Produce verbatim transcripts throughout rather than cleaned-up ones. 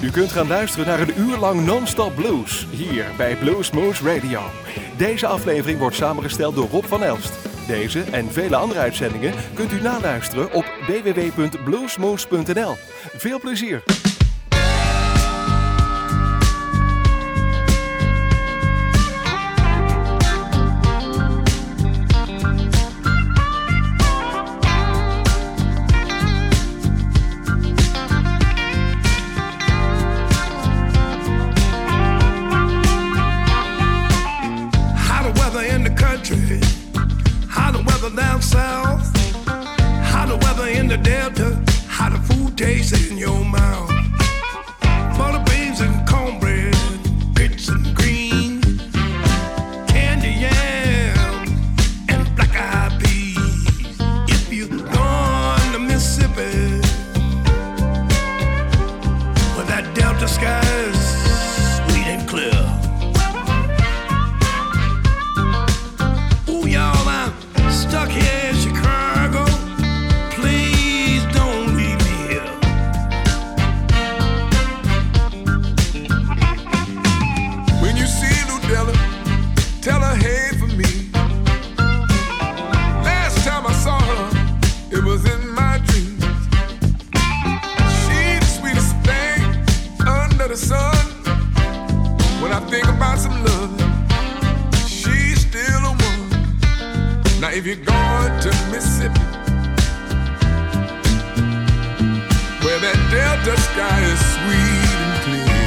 U kunt gaan luisteren naar een uur lang non-stop blues, hier bij Bluesmoose Radio. Deze aflevering wordt samengesteld door Rob van Elst. Deze en vele andere uitzendingen kunt u naluisteren op w w w punt bluesmoose punt n l. Veel plezier! Down south, how the weather in the delta, how the food tastes in your mouth. Butter beans and cornbread, grits and greens, candy yam and black eyed peas. If you gone to Mississippi, where that delta sky is sweet and clear. Stuck here in Chicago, please don't leave me here. When you see Ludella, tell her hey for me. Last time I saw her, it was in my dreams. She's the sweetest thing under the sun. When I think about some love, she's still a woman. Now if you're going to Mississippi, where that delta sky is sweet and clear,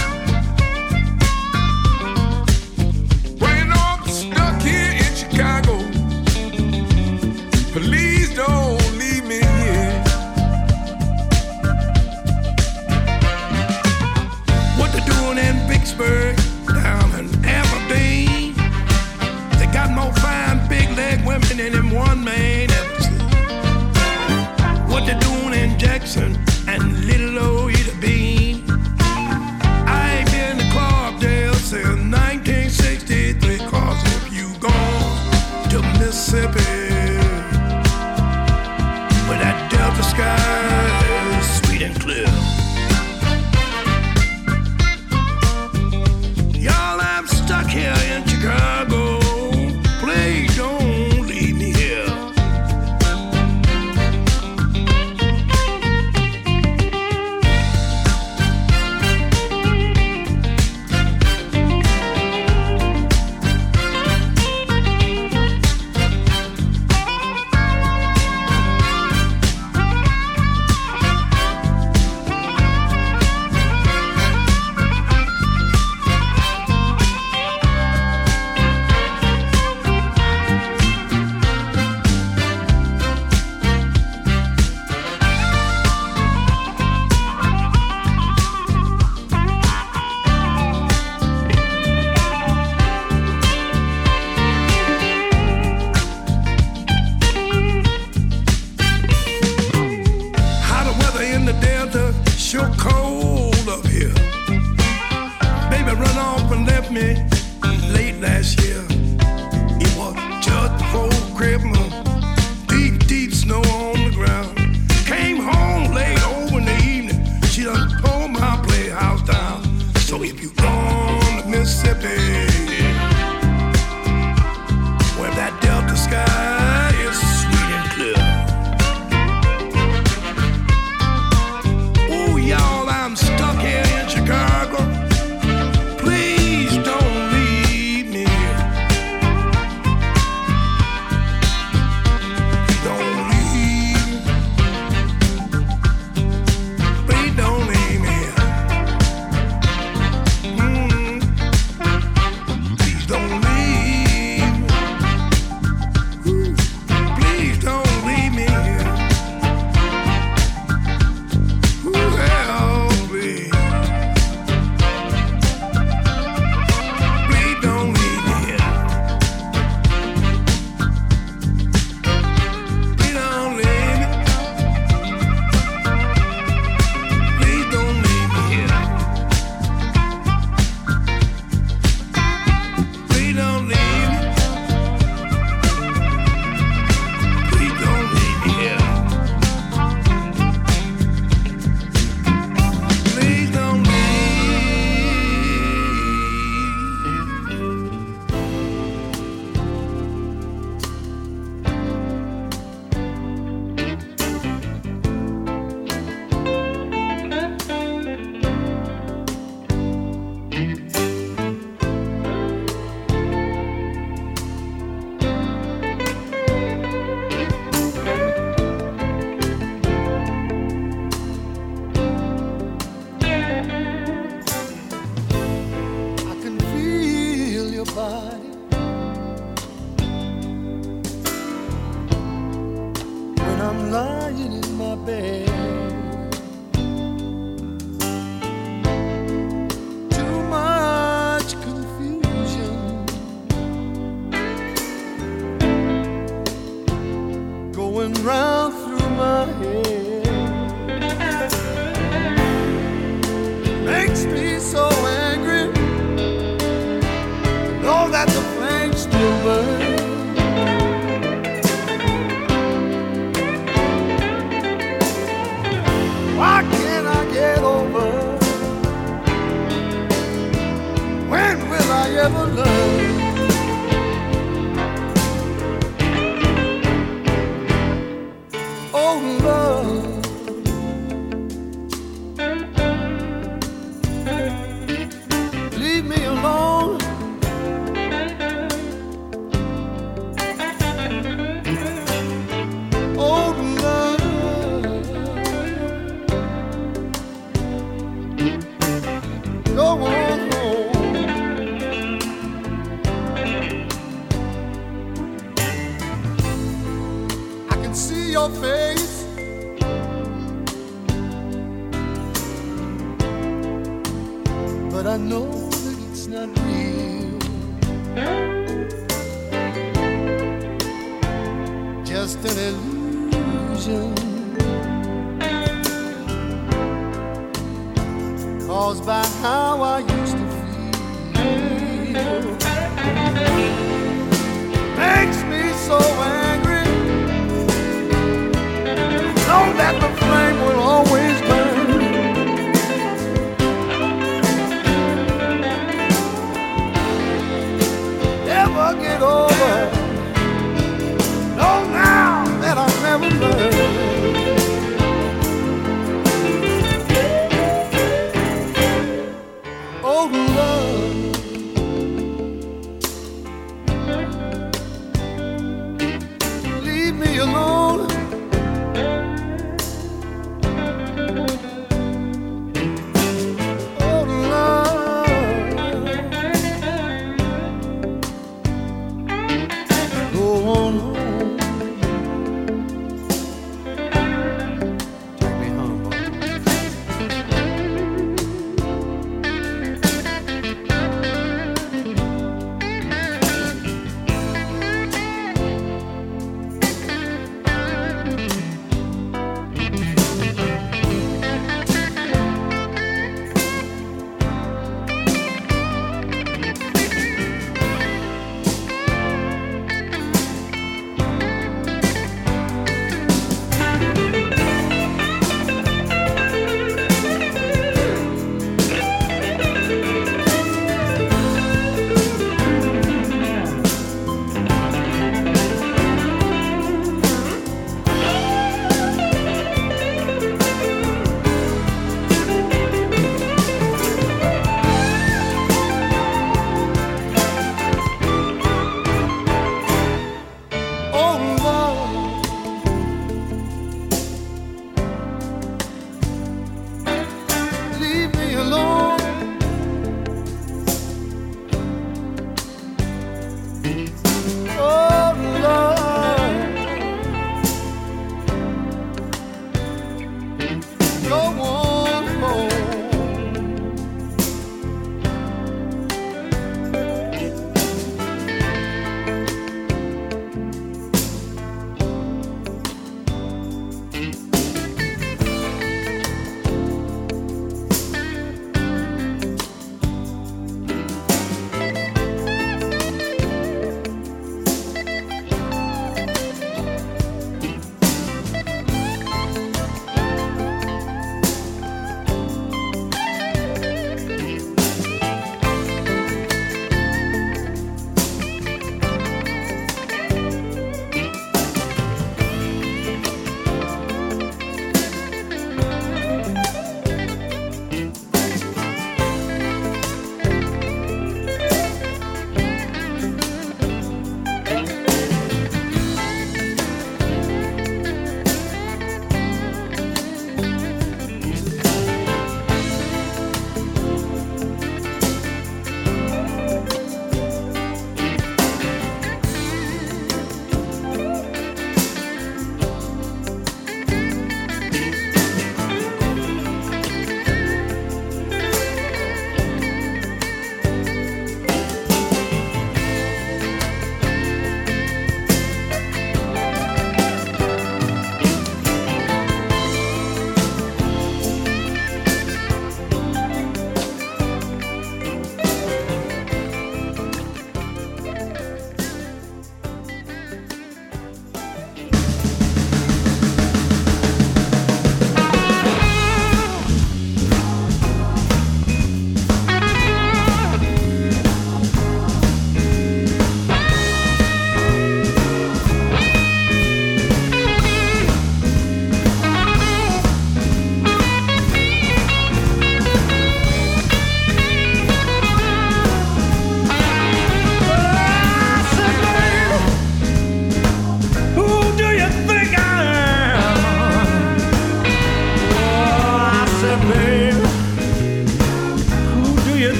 well, you know I'm stuck here in Chicago. Please don't leave me here. What they're doing in Vicksburg, down in Aberdeen, they got more fine big leg women than in one man ever seen. What they doing in Jackson and Little Old Ida Bean? I ain't been to Clarkdale since nineteen sixty-three. Cause if you gone to Mississippi, where that delta sky is sweet and clear. Y'all, I'm stuck here in Chicago. Please don't leave me here. Sure cold up here. Baby run off and left me late last year. It was just before Christmas. Deep, deep snow on the ground. Came home late over in the evening. She done tore my playhouse down. So if you gone to Mississippi, where that delta sky is sweet and clear, y'all, I'm I'm lying in my bed. Too much confusion going round through my head. Makes me so angry to know that the flames still burn. Why can't I get over? When will I ever learn? Oh, love, leave me alone. Oh, love, go on home. I can see your face, but I know that it's not real. Just an illusion caused by how I used to feel. Makes me so angry, know that the flame will always burn. Never get over, know now that I'll never learn. Oh, love,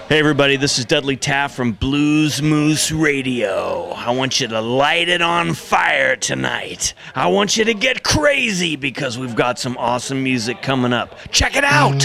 Hey everybody, this is Dudley Taft from Blues Moose Radio. I want you to light it on fire tonight. I want you to get crazy because we've got some awesome music coming up. Check it out!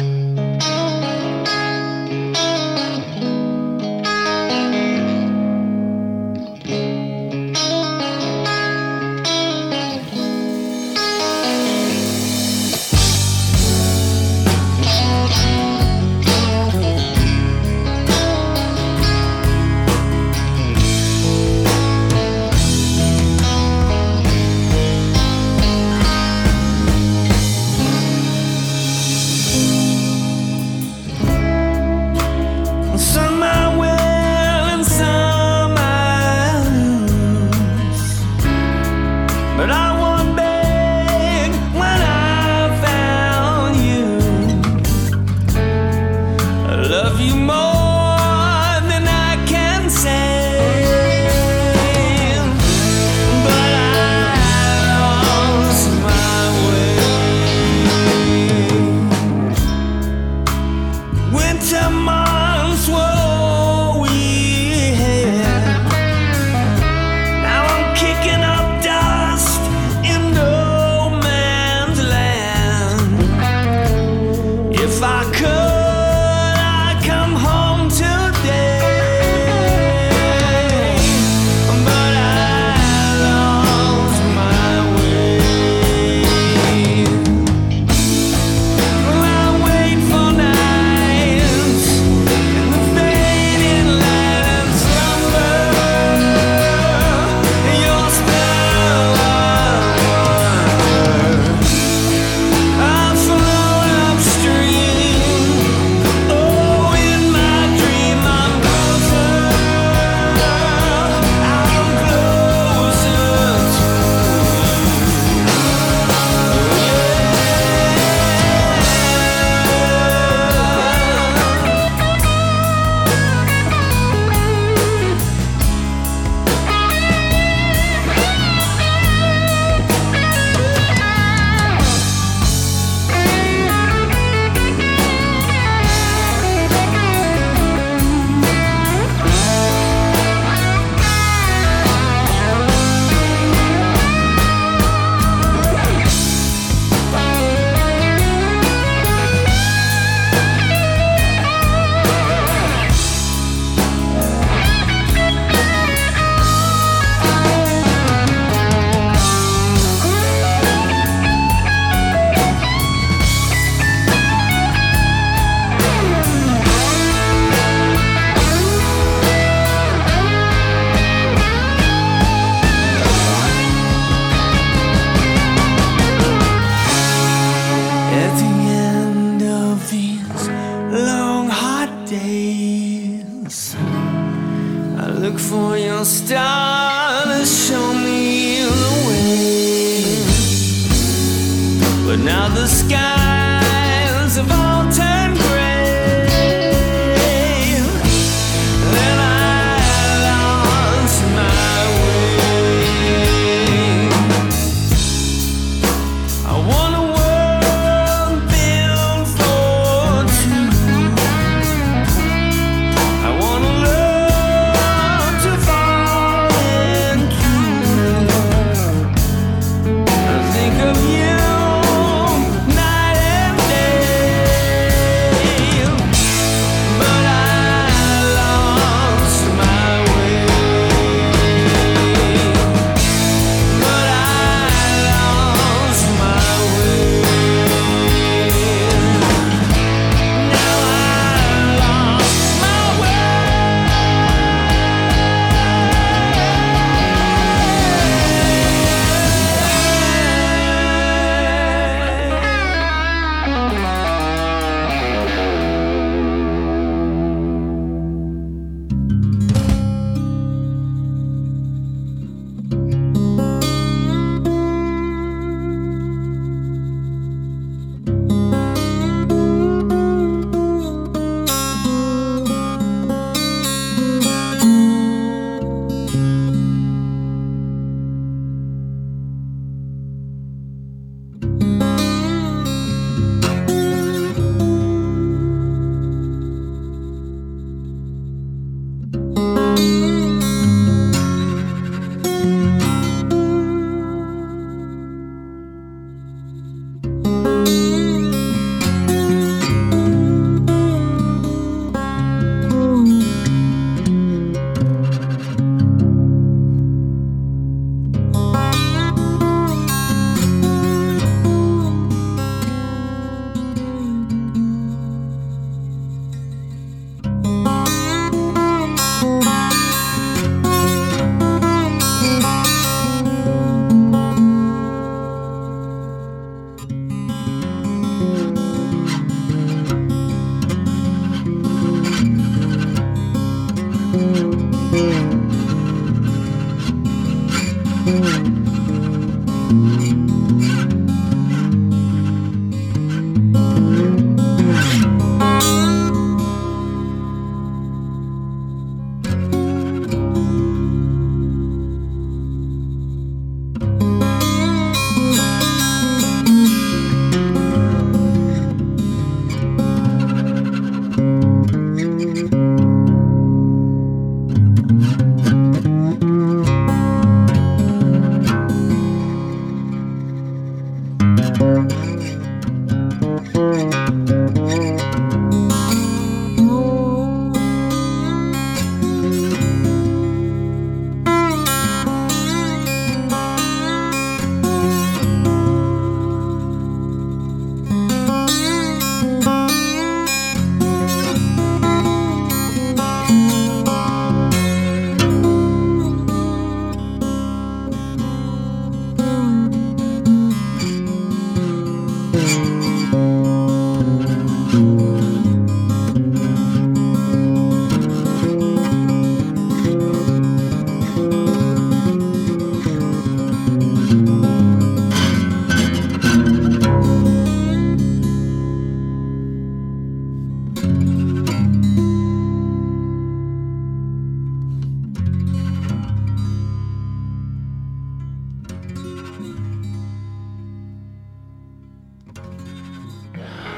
Think of you night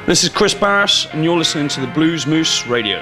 This is Chris Barris, and you're listening to the Blues Moose Radio.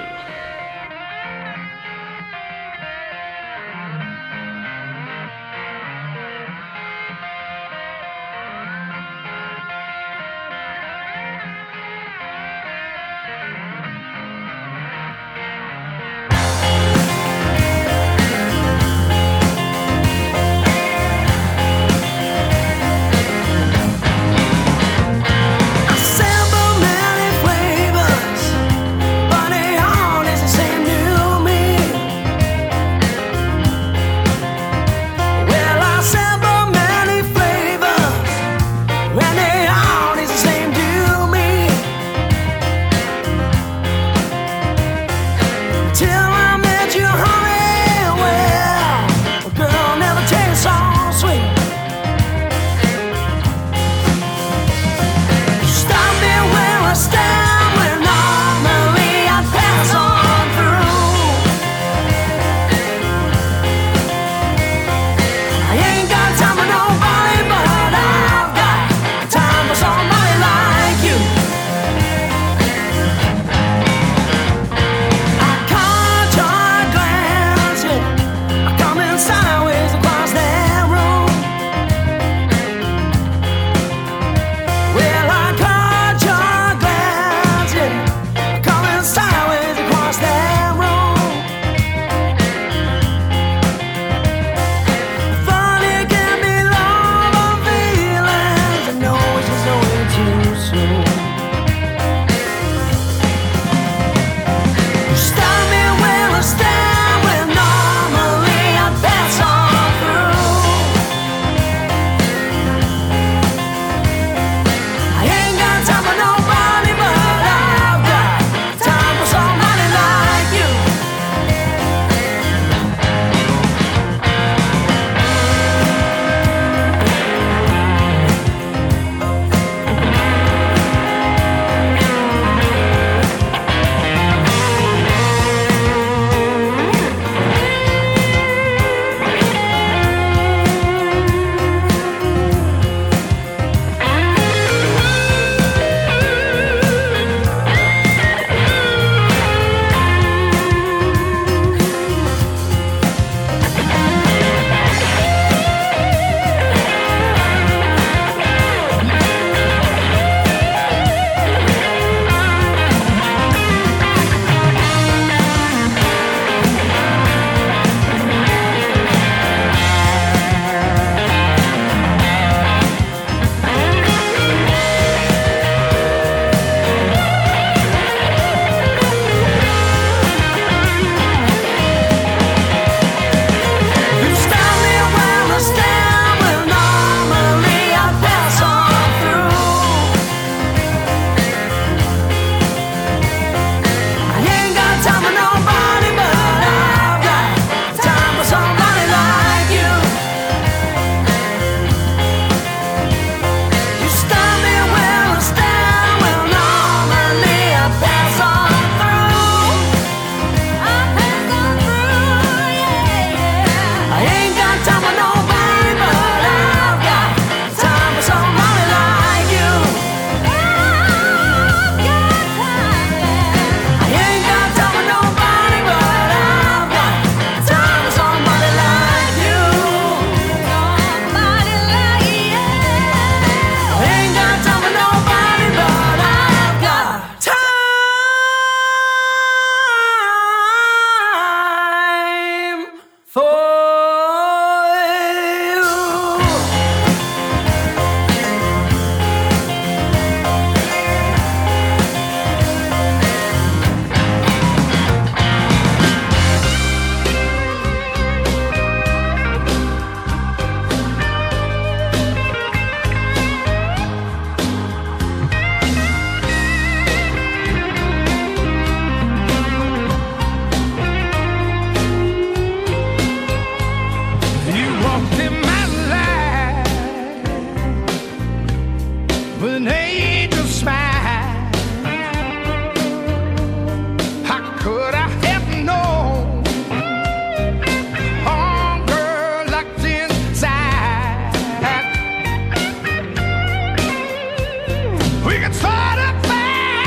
We can start a fire.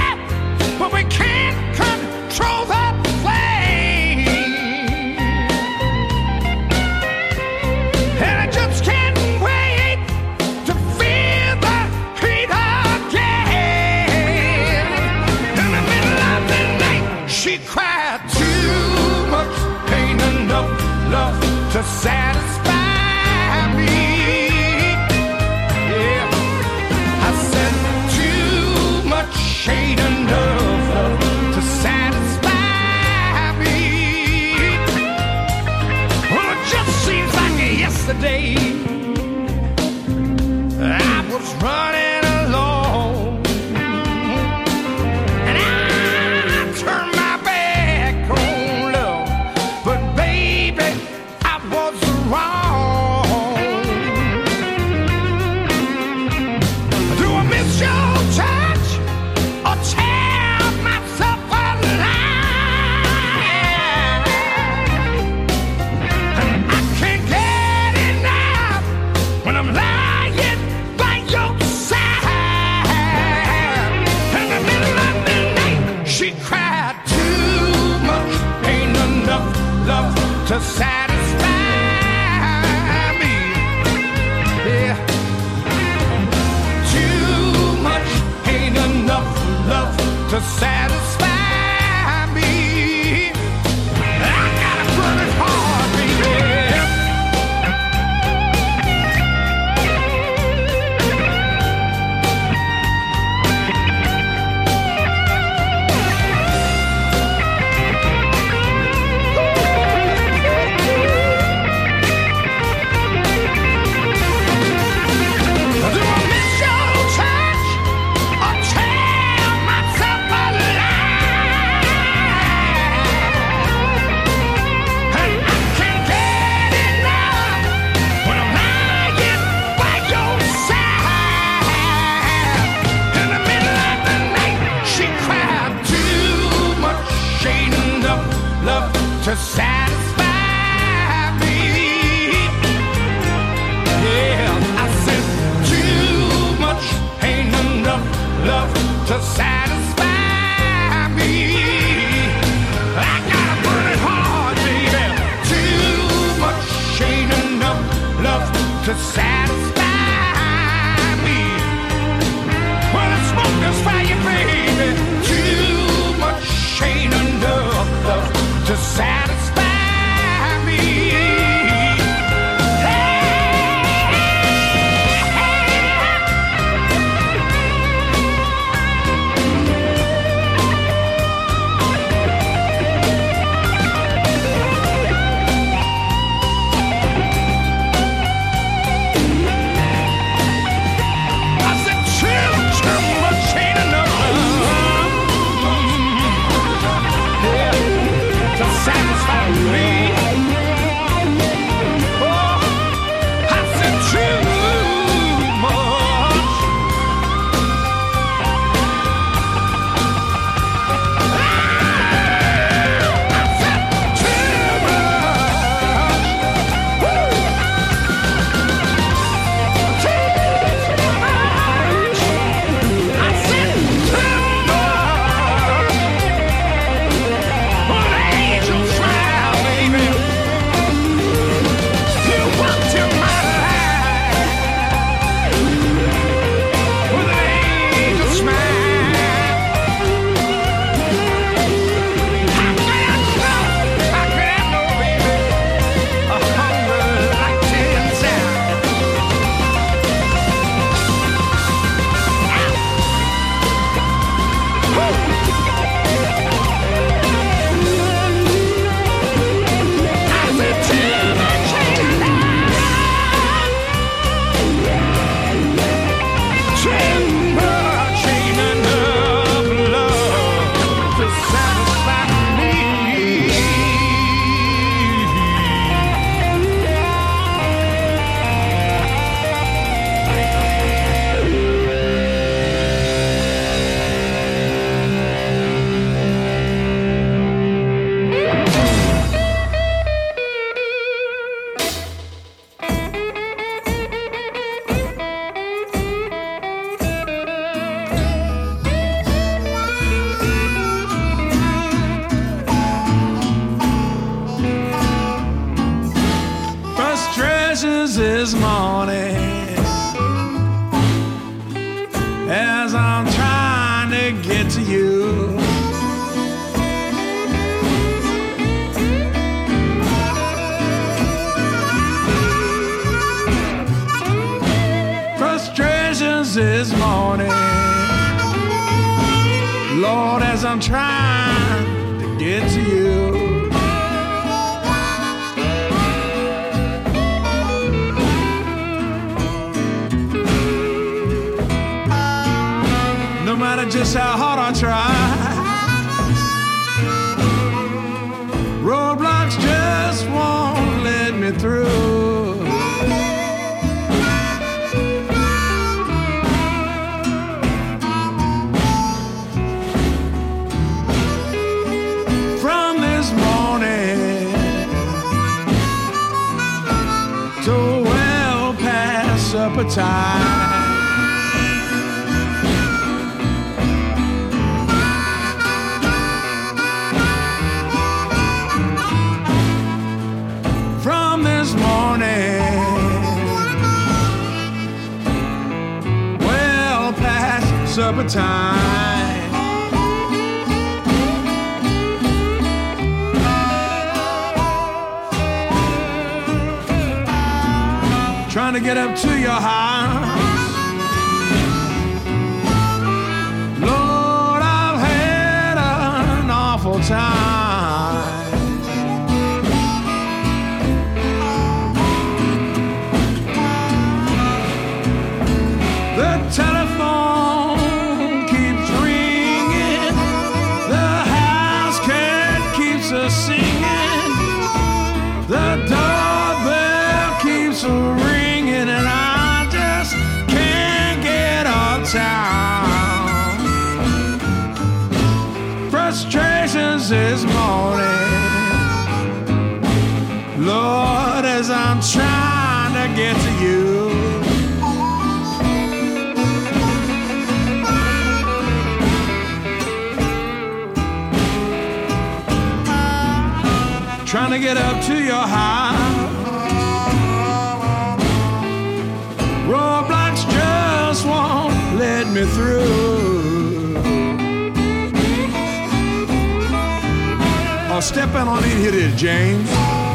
yesterday I was running alone, and I turned my back on love, but baby, I was wrong. Do I miss your touch or tear myself alive? And I can't get enough when I'm lying by your side. In the middle of the night, she cried too much. Ain't enough love to satisfy me. Yeah. Too much, ain't enough love to satisfy me. I gotta burn it hard, baby. Do I miss your touch or tear myself alive? And I can't get enough when I'm lying by your side. In the middle of the night, she cried too much. Ain't enough love to satisfy me. Yeah, I said too much, ain't enough love to satisfy me. I gotta burn it hard, baby. Too much, ain't enough love to satisfy me. When I smoke this fire, baby, too much, ain't enough love to satisfy me. I said too, too much ain't enough love, yeah, to satisfy me. Oh, I said too much. I said too much. Woo. Too much. I said too much. Well, angels smile, baby. You walked in my life with an angel smile. How could I know? How could I know, baby? A hunger like ten sound. I said too much ain't enough. Too much ain't enough love to satisfy me. Frustrations this morning as I'm trying to get to you. Frustrations this morning, Lord, as I'm trying to get to you. mind just how hard I try. Roadblocks just won't let me through. From this morning to well past supper time, supper time. Trying to get up to your house. Lord, I've had an awful time. The telephone singing, the doorbell keeps ringing, and I just can't get uptown. Frustrations this morning, Lord, as I'm trying to get to you. Trying to get up to your house. Roadblocks just won't let me through. Oh, step in on in here, James.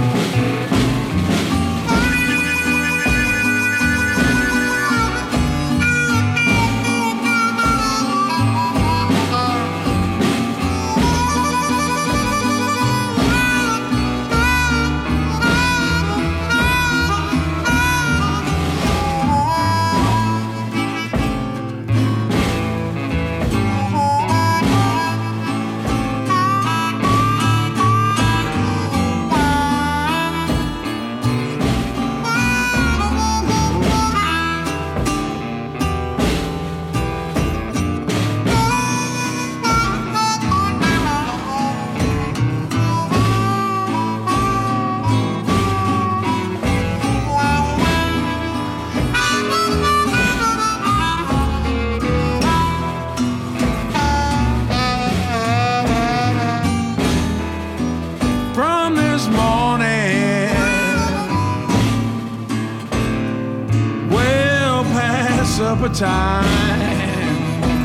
Supper time.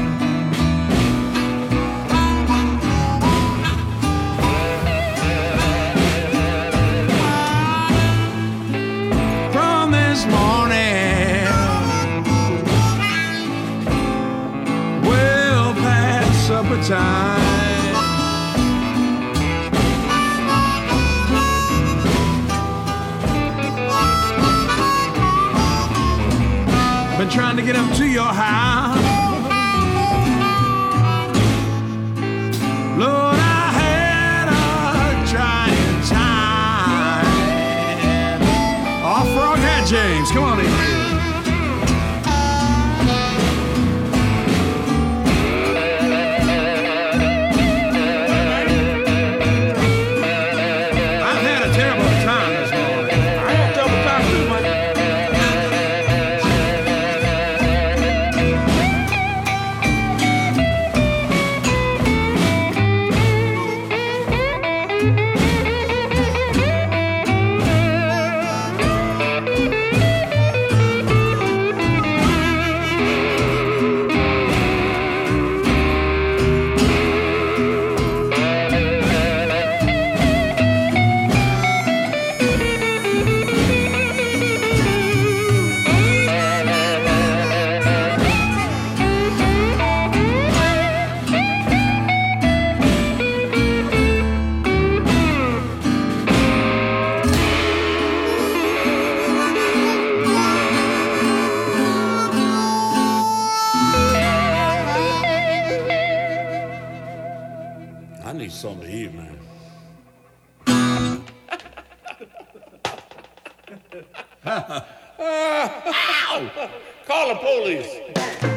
From this morning, well past supper time. Been trying to get up to your house. Lord, I had a trying time. Oh, Froghat James, come on in here. I've had a terrible time this morning. I had double time too, man. Ow! Call the police.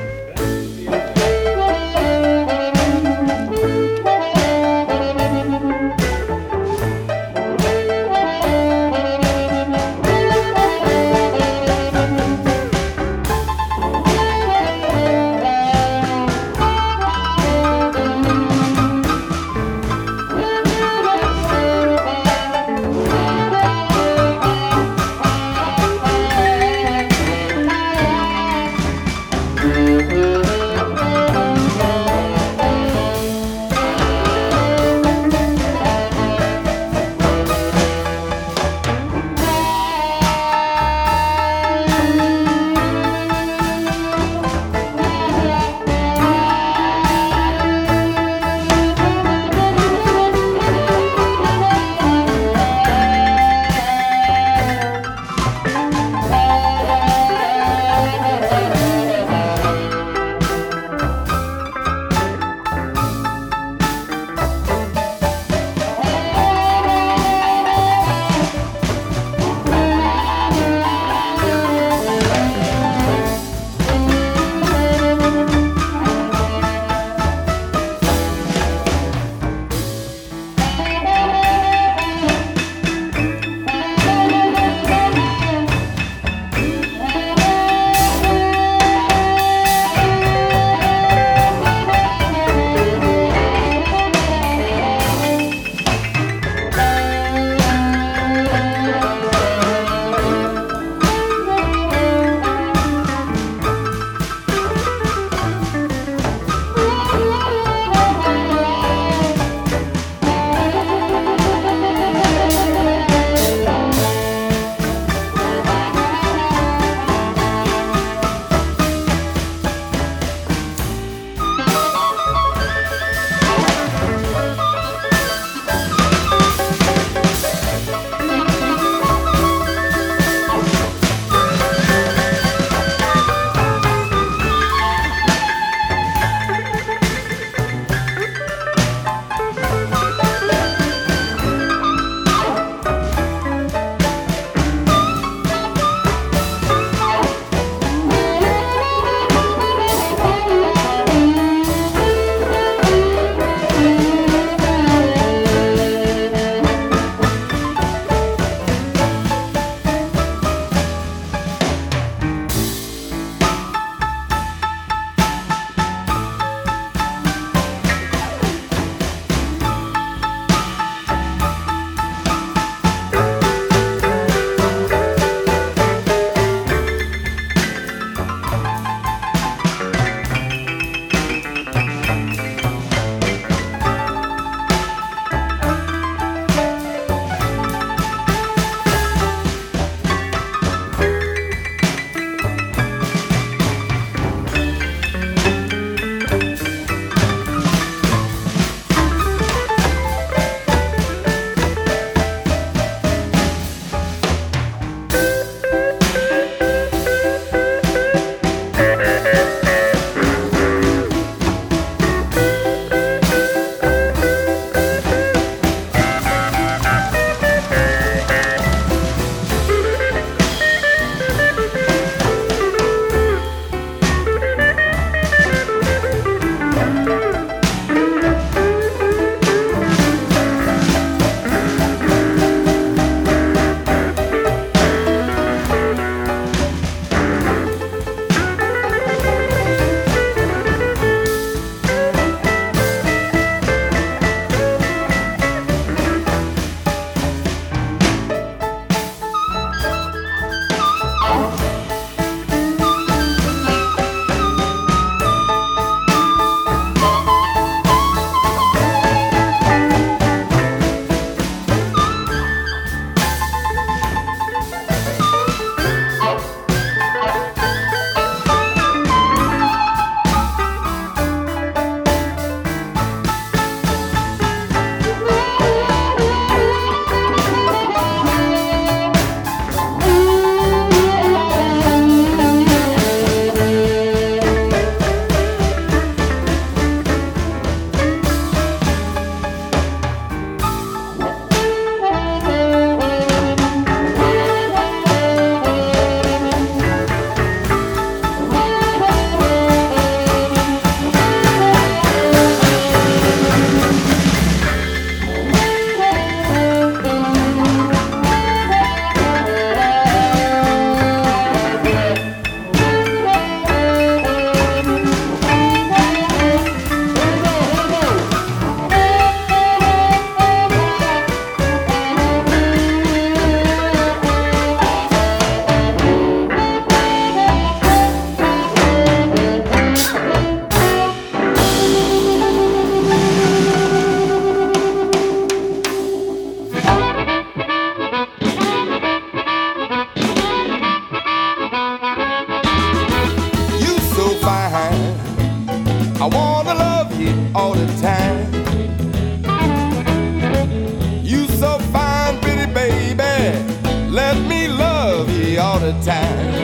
time.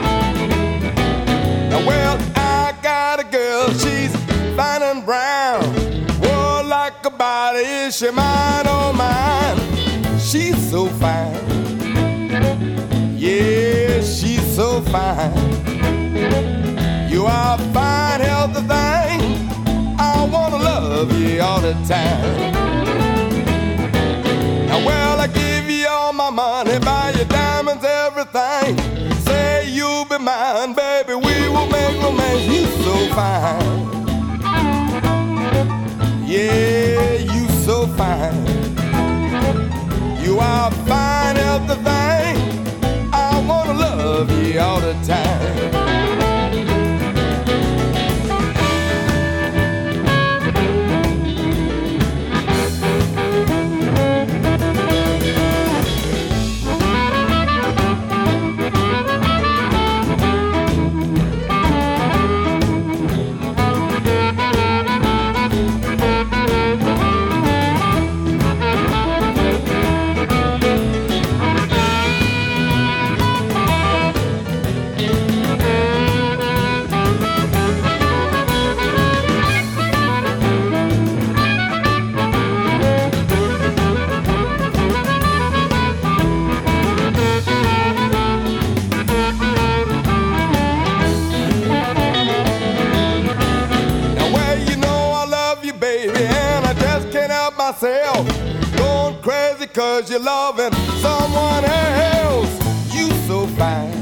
Now, well, I got a girl, she's fine and brown. Whoa, like a body, is she mine or mine? She's so fine. Yeah, she's so fine. You are a fine, healthy thing. I wanna love you all the time. Now, well, I give you all my money, buy you diamonds, everything. Say you'll be mine, baby, we will make romance. You so fine. Yeah, you so fine. You are a fine, healthy thing. I wanna love you all the time. Myself, going crazy cause you're loving someone else. You so fine.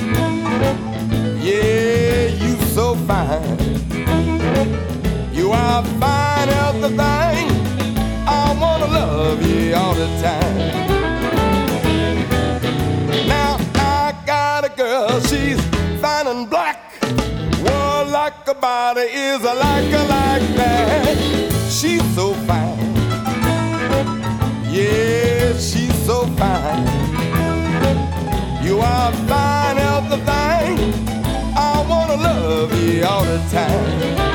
Yeah, you so fine. You are a fine, healthy thing. I wanna love you all the time. Now I got a girl, she's fine and black. Well, like a body is a like a like that. She's so fine. Yeah, she's so fine. You are a fine, healthy thing. I wanna love you all the time.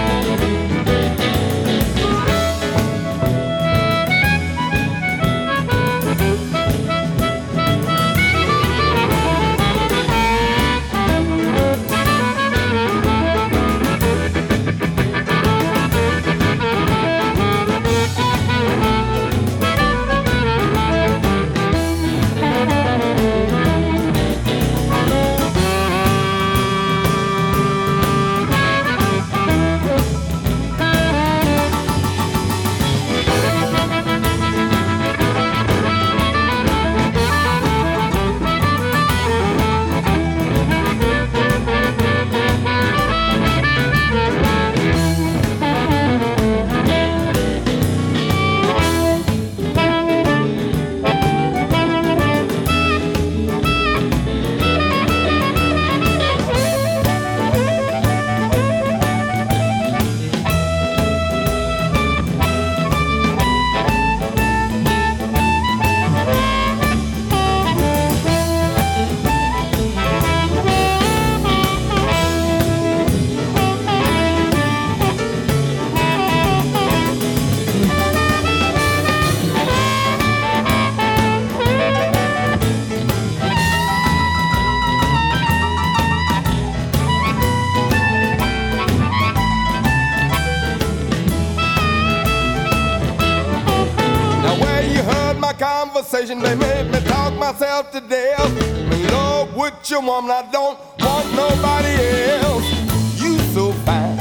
They made me talk myself to death. In love with your woman, I don't want nobody else. You so fine.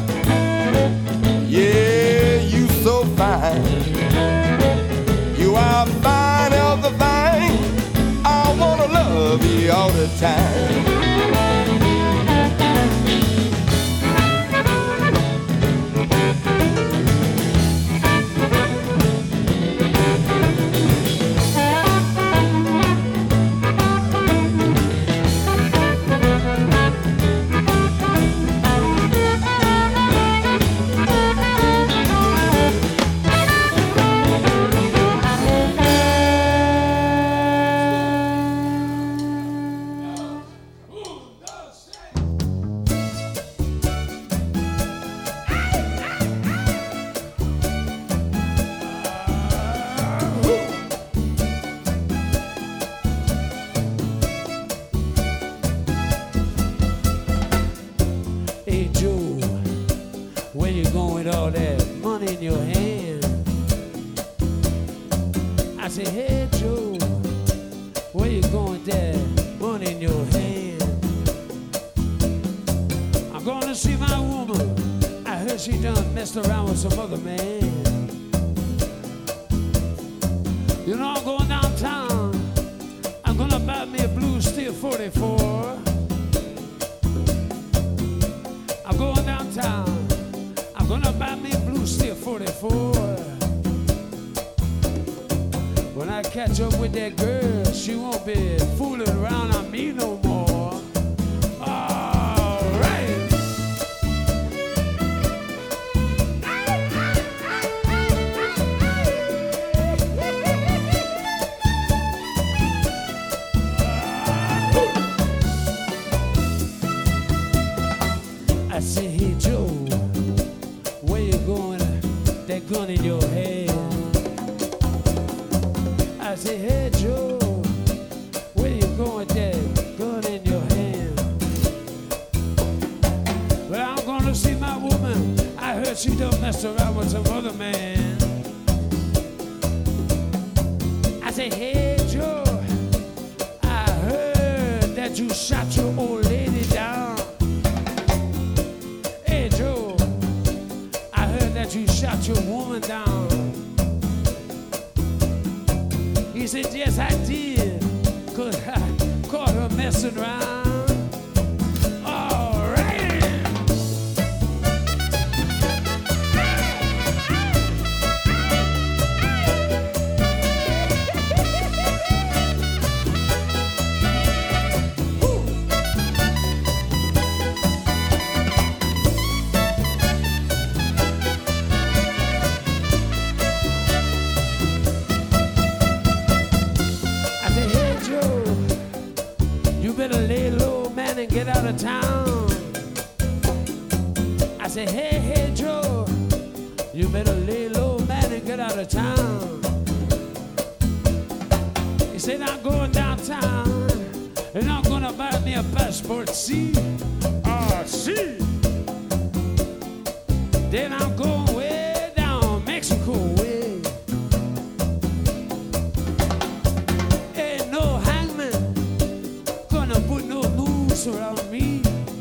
Yeah, you so fine. You are a fine, healthy thing. I wanna love you all the time. see my woman. I heard she done messed around with some other man. You know I'm going downtown. I'm gonna buy me a blue steel forty-four. I'm going downtown. I'm gonna buy me a blue steel forty-four. When I catch up with that girl, she won't be fooling around on me no more. All right. I say, hey Joe, where you going? That gun in your hand. I say, hey Joe, where you going with that gun in your hand? Well, I'm gonna see my woman. I heard she done messed around with some other man. I say, hey Joe, I heard that you shot your old lady down. Hey Joe, I heard that you shot your woman down. He said, yes, I did, cause I caught her messing around. All right. Better lay low, man, and get out of town. I say, hey, hey, Joe, you better lay low, man, and get out of town. He said, I'm going downtown, and I'm gonna buy me a passport C. R C. Then I'm going way down Mexico way. Ain't no hangman put no noose around me.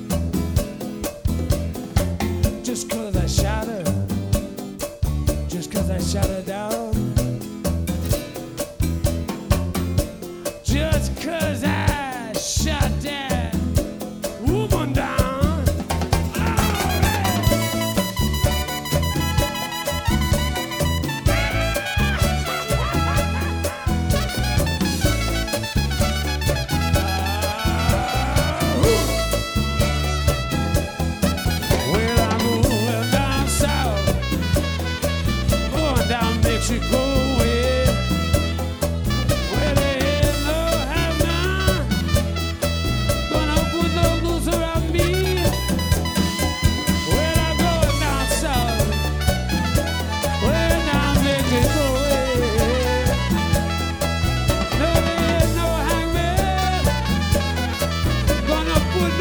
Just cause I shot her, just cause I shot her down, just cause I shot that woman down. Mexico way, where there is no heaven, gonna put no noose around me. When I'm going down south, when I'm Mexico way, no there is no hangman, gonna put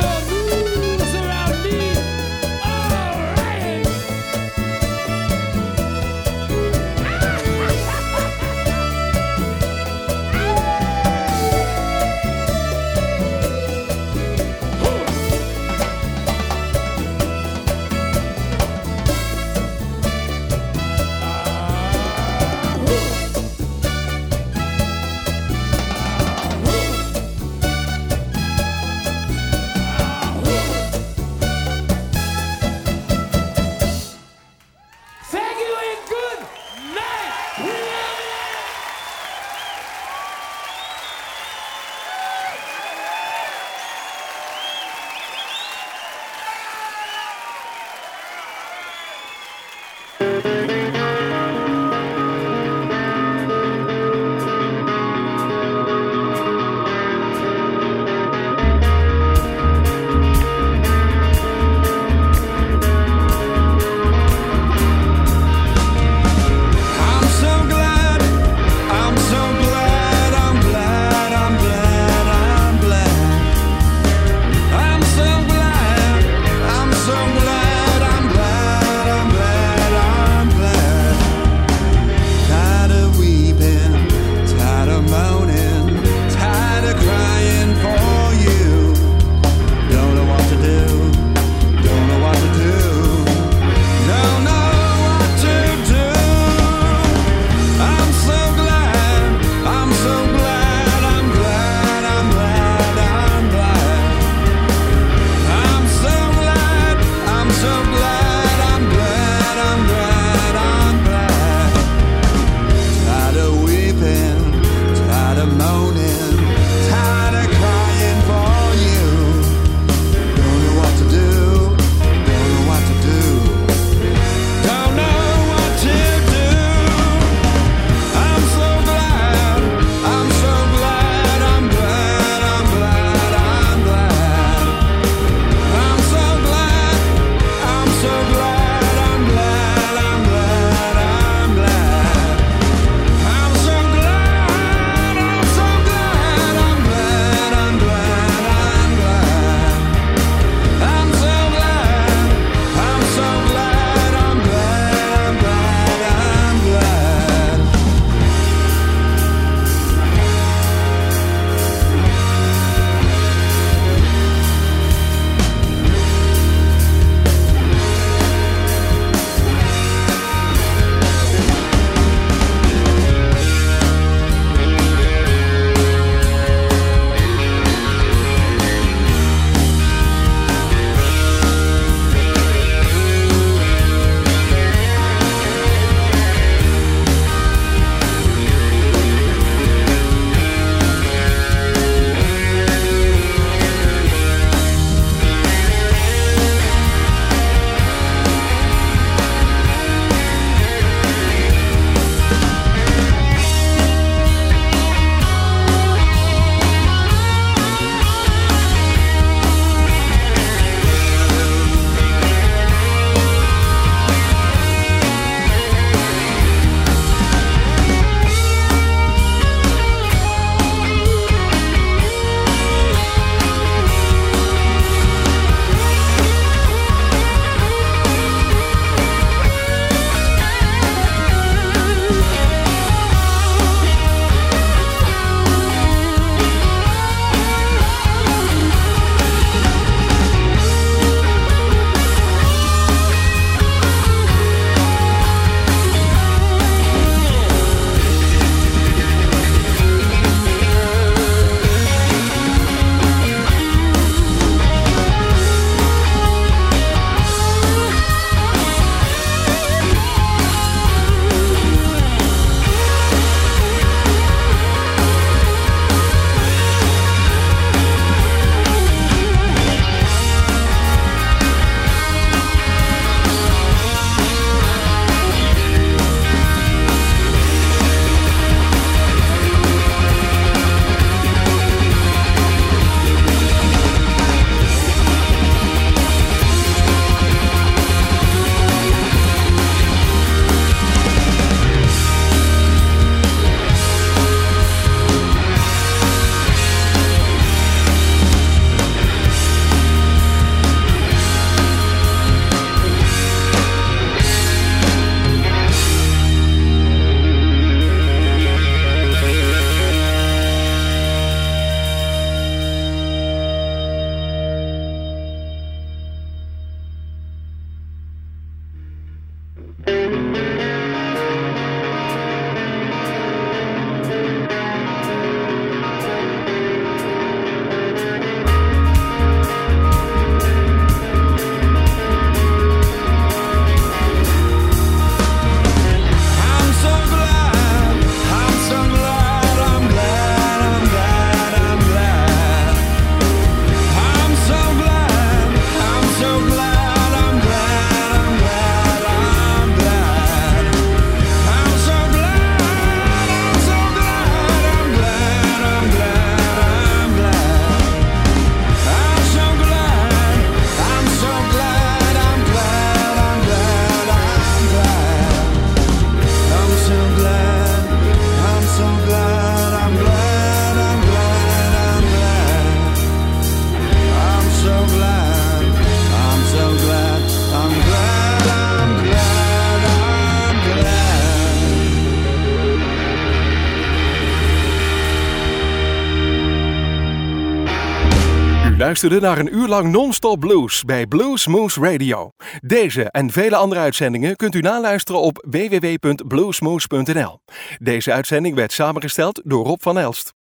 luisterde naar een uur lang non-stop blues bij Blues Moose Radio. Deze en vele andere uitzendingen kunt u naluisteren op w w w punt bluesmoose punt n l. Deze uitzending werd samengesteld door Rob van Elst.